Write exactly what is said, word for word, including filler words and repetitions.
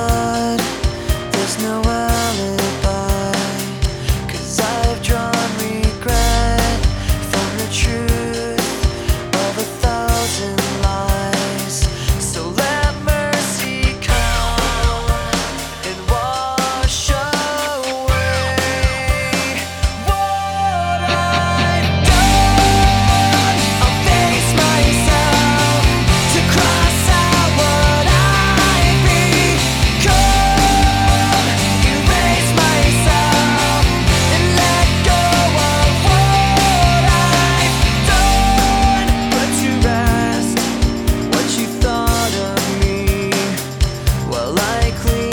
but there's no alibi, 'cause I've drawn regret from the truth of a thousand lies. So let mercy come and wash away what I've done. I'll face myself to cross out what I've become, erase myself and let go of what I've done. Put to rest what you thought of me while I clean